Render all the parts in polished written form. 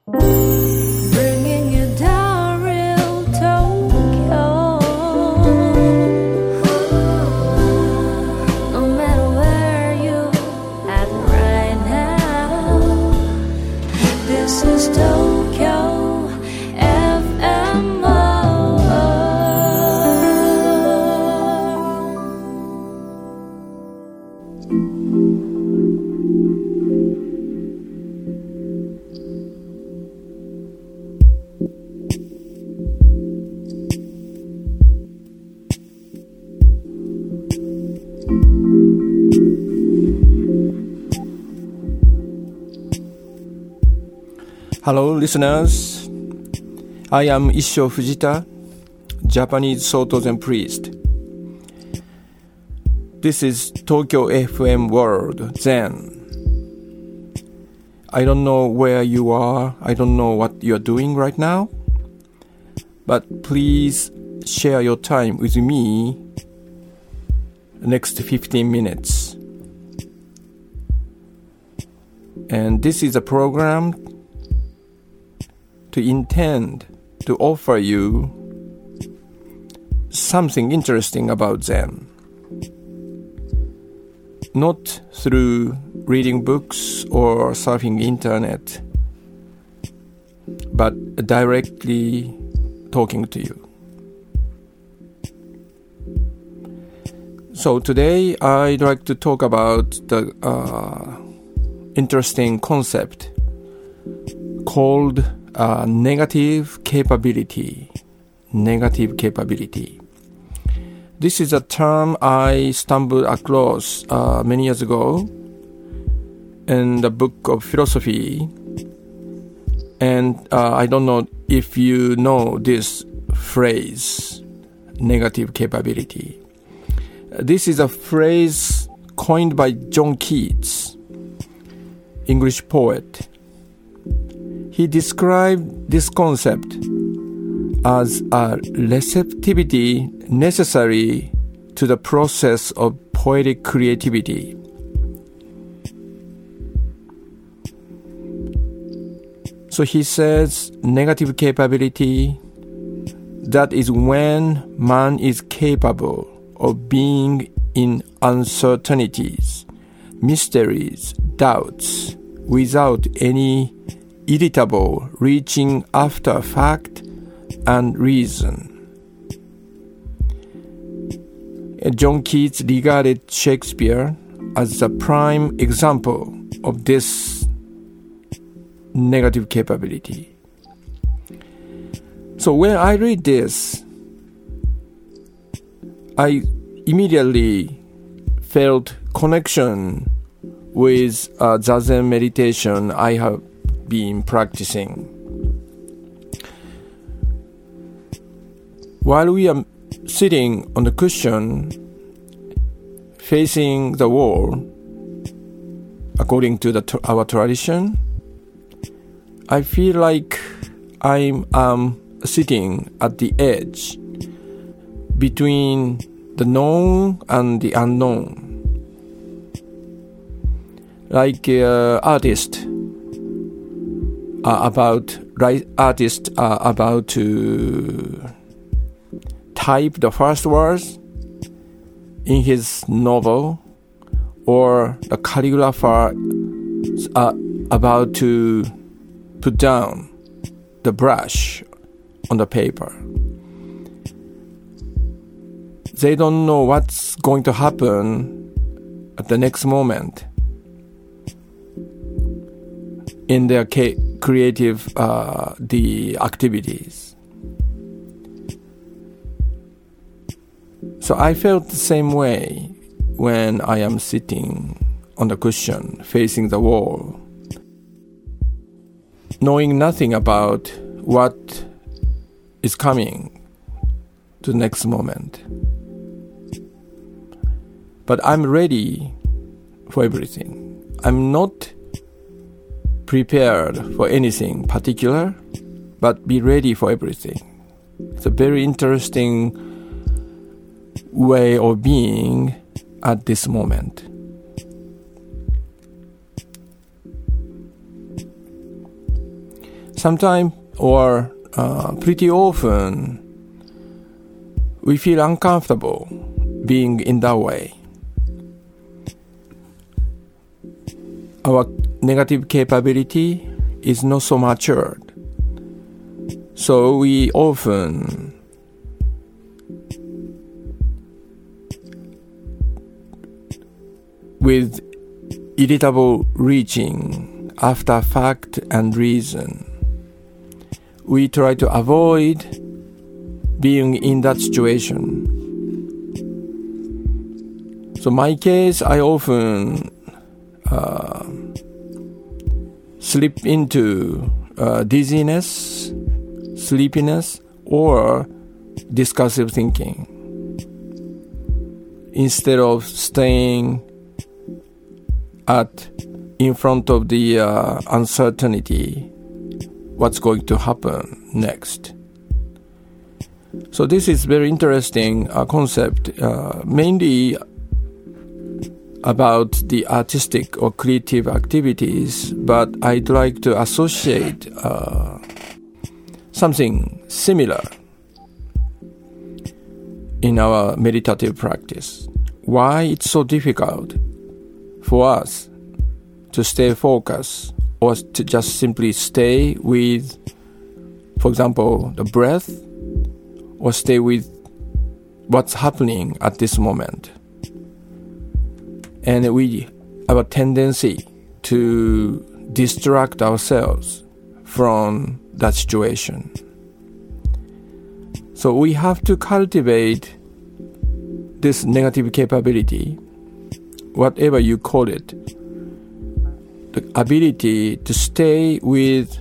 Bringing you down real Tokyo. No matter where you at right now, this is Tokyo FMO. Hello, listeners. I am Issho Fujita, Japanese Soto Zen priest. This is Tokyo FM World Zen. I don't know where you are. I don't know what you are doing right now. But please share your time with me the next 15 minutes. And this is a program to intend to offer you something interesting about Zen. Not through reading books or surfing internet, but directly talking to you. So today I'd like to talk about the interesting concept called negative capability. Negative capability. This is a term I stumbled across many years ago in the book of philosophy. And I don't know if you know this phrase, negative capability. This is a phrase coined by John Keats, English poet. He described this concept as a receptivity necessary to the process of poetic creativity. So he says negative capability, that is when man is capable of being in uncertainties, mysteries, doubts, without any irritable reaching after fact and reason. John Keats regarded Shakespeare as a prime example of this negative capability. So when I read this, I immediately felt connection with Zazen meditation I have been practicing. While we are sitting on the cushion facing the wall, according to our tradition, I feel like I'm sitting at the edge between the known and the unknown. Like artists are about to type the first words in his novel, or the calligrapher are about to put down the brush on the paper. They don't know what's going to happen at the next moment in their creative the activities. So I felt the same way when I am sitting on the cushion facing the wall, knowing nothing about what is coming to the next moment. But I'm ready for everything. I'm not prepared for anything particular, but be ready for everything. It's a very interesting way of being at this moment. sometimes or pretty often we feel uncomfortable being in that way. Our negative capability is not so matured. So we often with irritable reaching after fact and reason, we try to avoid being in that situation. So my case, I often slip into dizziness, sleepiness, or discursive thinking instead of staying in front of the uncertainty, what's going to happen next. So this is very interesting concept, mainly about the artistic or creative activities, but I'd like to associate something similar in our meditative practice. Why it's so difficult for us to stay focused or to just simply stay with, for example, the breath, or stay with what's happening at this moment. And we have a tendency to distract ourselves from that situation. So we have to cultivate this negative capability, whatever you call it, the ability to stay with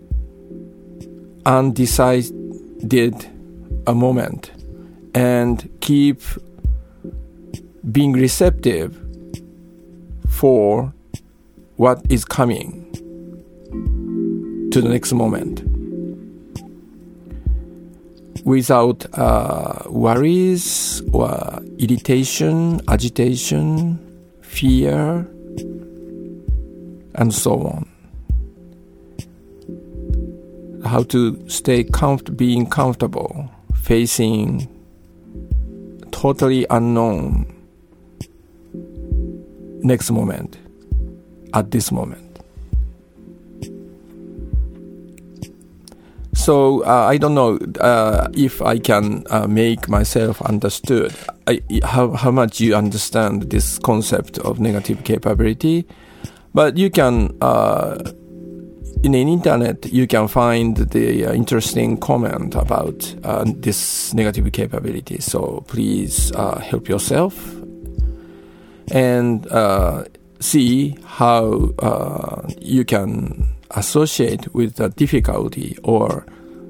undecided a moment and keep being receptive for what is coming to the next moment without worries or irritation, agitation, fear, and so on. How to stay being comfortable facing totally unknown next moment at this moment. So I don't know if I can make myself understood, how much you understand this concept of negative capability, but you can in the internet you can find the interesting comment about this negative capability. So please help yourself and see how you can associate with the difficulty or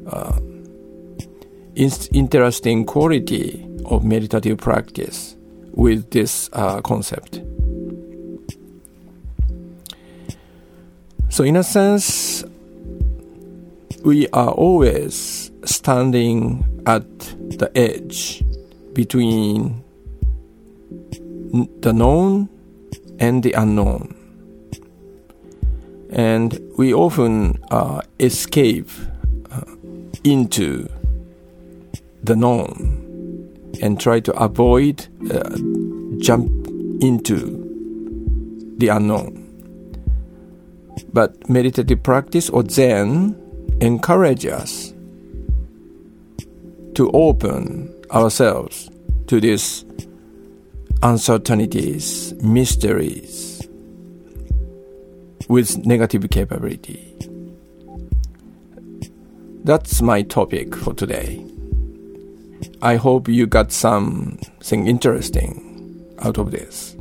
interesting quality of meditative practice with this concept. So in a sense, we are always standing at the edge between the known and the unknown. And we often escape into the known and try to avoid jump into the unknown. But meditative practice or Zen encourages us to open ourselves to these uncertainties, mysteries with negative capability. That's my topic for today. I hope you got something interesting out of this.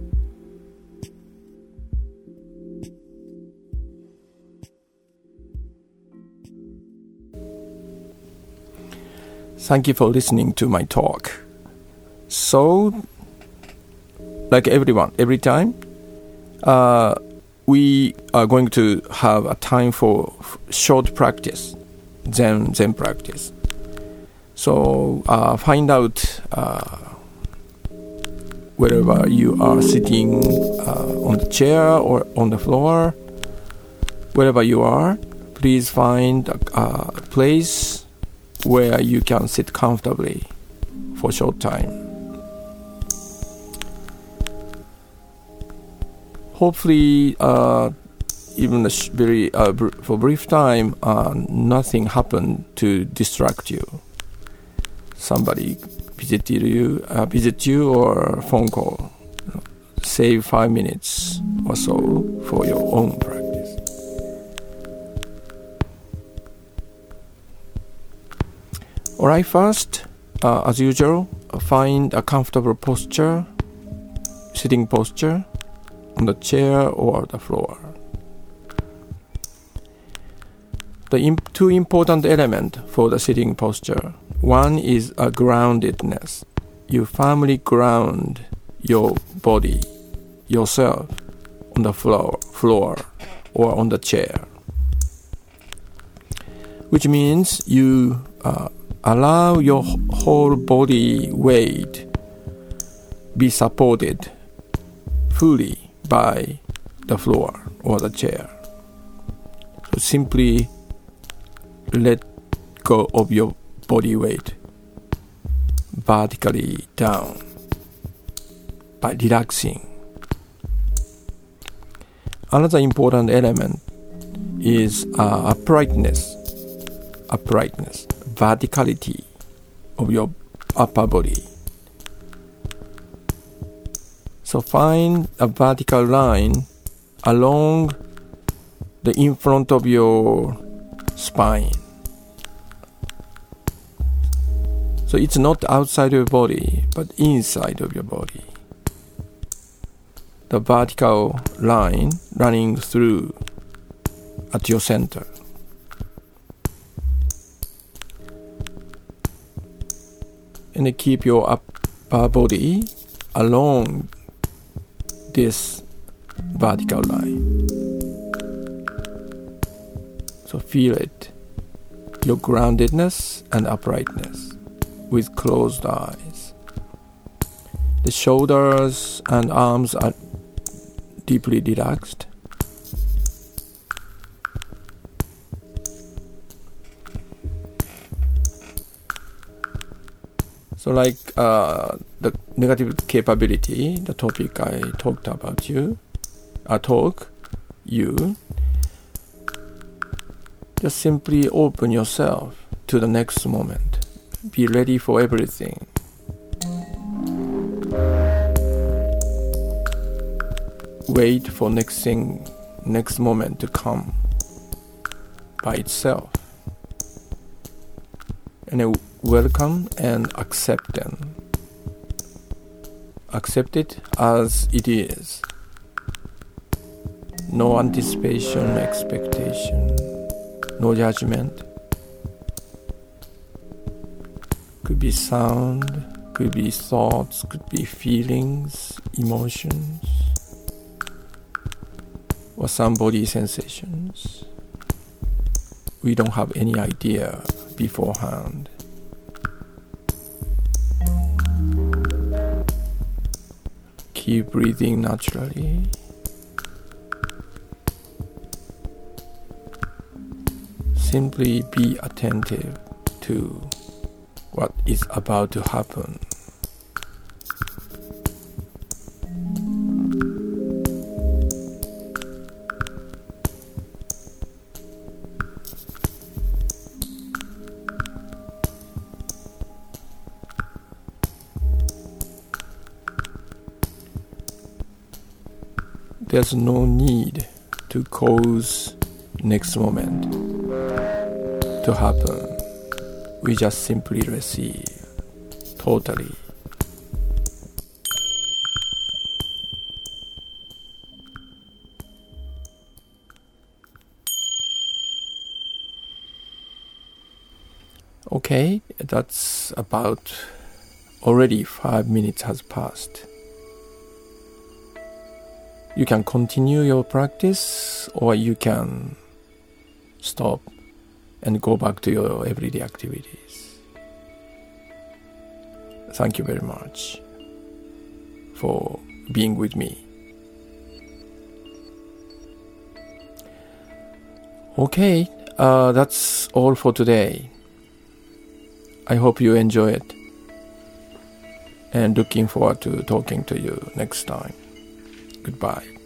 Thank you for listening to my talk. So, like every time, we are going to have a time for short practice, Zen practice. So, find out wherever you are sitting on the chair or on the floor, wherever you are, please find a place where you can sit comfortably for a short time. Hopefully, even for a brief time, nothing happened to distract you. Somebody visit you or phone call. Save 5 minutes or so for your own practice. Alright, first, as usual, find a comfortable posture, sitting posture, on the chair or the floor. The two important elements for the sitting posture. One is a groundedness. You firmly ground your body, yourself, on the floor or on the chair. Which means you allow your whole body weight be supported fully by the floor or the chair. So simply let go of your body weight vertically down by relaxing. Another important element is uprightness, verticality of your upper body. So find a vertical line along the in front of your spine. So it's not outside of your body, but inside of your body. The vertical line running through at your center. And then keep your upper body along this vertical line. So feel it, your groundedness and uprightness with closed eyes. The shoulders and arms are deeply relaxed. So like the negative capability, the topic I talked about you, just simply open yourself to the next moment. Be ready for everything. Wait for next moment to come by itself. And then welcome and accept them. Accept it as it is. No anticipation, expectation, no judgment. Could be sound, could be thoughts, could be feelings, emotions, or some body sensations. We don't have any idea beforehand. Keep breathing naturally. Simply be attentive to what is about to happen. There's no need to cause next moment to happen. We just simply receive totally. Okay, that's about already 5 minutes has passed. You can continue your practice or you can stop and go back to your everyday activities. Thank you very much for being with me. Okay, that's all for today. I hope you enjoy it. And looking forward to talking to you next time. Goodbye.